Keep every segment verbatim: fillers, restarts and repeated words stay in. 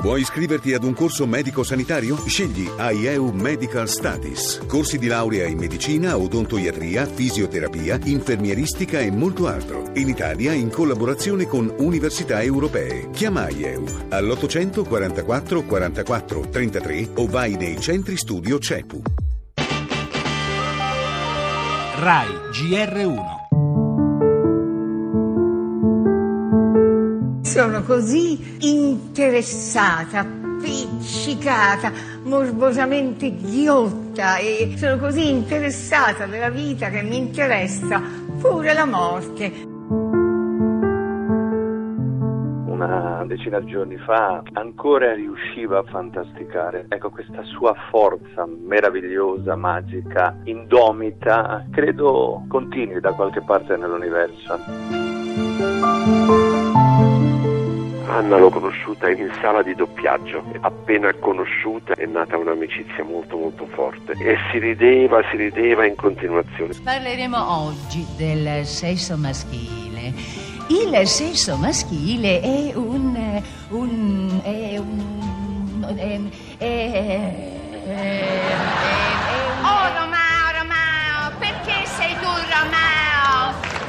Vuoi iscriverti ad un corso medico-sanitario? Scegli AIEU Medical Studies. Corsi di laurea in medicina, odontoiatria, fisioterapia, infermieristica e molto altro. In Italia in collaborazione con università europee. Chiama AIEU all'ottocento quarantaquattro quarantaquattro trentatré o vai nei centri studio CEPU. Rai G R uno. Sono così interessata, appiccicata, morbosamente ghiotta e sono così interessata della vita che mi interessa pure la morte. Una decina di giorni fa ancora riusciva a fantasticare. Ecco, questa sua forza meravigliosa, magica, indomita, credo continui da qualche parte nell'universo. Anna l'ho conosciuta in sala di doppiaggio, appena conosciuta è nata un'amicizia molto molto forte e si rideva, si rideva in continuazione. Parleremo oggi del sesso maschile. Il sesso maschile è un... un... è un... è... è... è... Oh Romeo, Romeo, perché sei tu Romeo?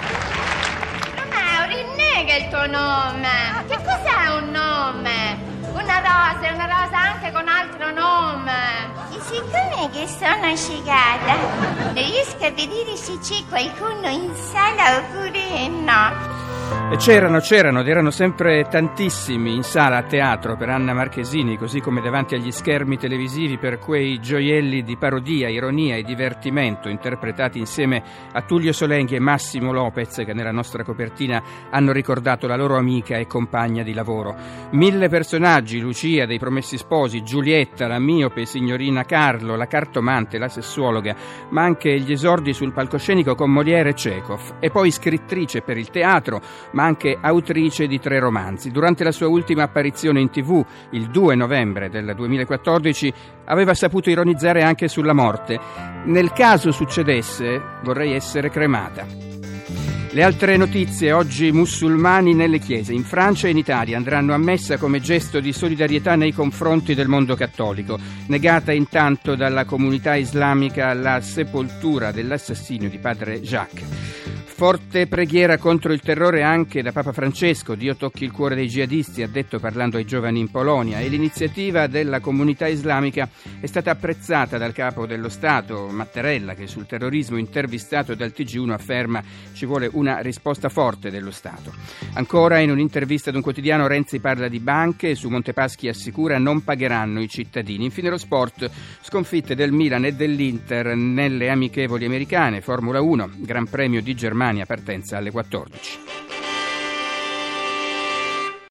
Romeo, rinnega il tuo nome. Che cos'è un nome? Una rosa, è una rosa anche con altro nome. E siccome che sono scegata, riesco a vedere se c'è qualcuno in sala oppure no. E c'erano, c'erano, ed erano sempre tantissimi in sala a teatro per Anna Marchesini, così come davanti agli schermi televisivi per quei gioielli di parodia, ironia e divertimento interpretati insieme a Tullio Solenghi e Massimo Lopez, che nella nostra copertina hanno ricordato la loro amica e compagna di lavoro. Mille personaggi, Lucia dei Promessi Sposi, Giulietta, la miope signorina Carlo, la cartomante, la sessuologa, ma anche gli esordi sul palcoscenico con Molière e Chekhov, e poi scrittrice per il teatro, ma anche autrice di tre romanzi. Durante la sua ultima apparizione in tivù, il due novembre del duemilaquattordici, aveva saputo ironizzare anche sulla morte. Nel caso succedesse, vorrei essere cremata. Le altre notizie: oggi musulmani nelle chiese. In Francia e in Italia andranno a messa come gesto di solidarietà nei confronti del mondo cattolico. Negata intanto dalla comunità islamica la sepoltura dell'assassinio di padre Jacques. Forte preghiera contro il terrore anche da Papa Francesco. Dio tocchi il cuore dei jihadisti, ha detto parlando ai giovani in Polonia. E l'iniziativa della comunità islamica è stata apprezzata dal capo dello Stato, Mattarella, che sul terrorismo intervistato dal T G uno afferma: ci vuole una risposta forte dello Stato. Ancora, in un'intervista ad un quotidiano, Renzi parla di banche e su Montepaschi assicura non pagheranno i cittadini. Infine lo sport: sconfitte del Milan e dell'Inter nelle amichevoli americane. Formula uno, Gran Premio di Germania, partenza alle quattordici.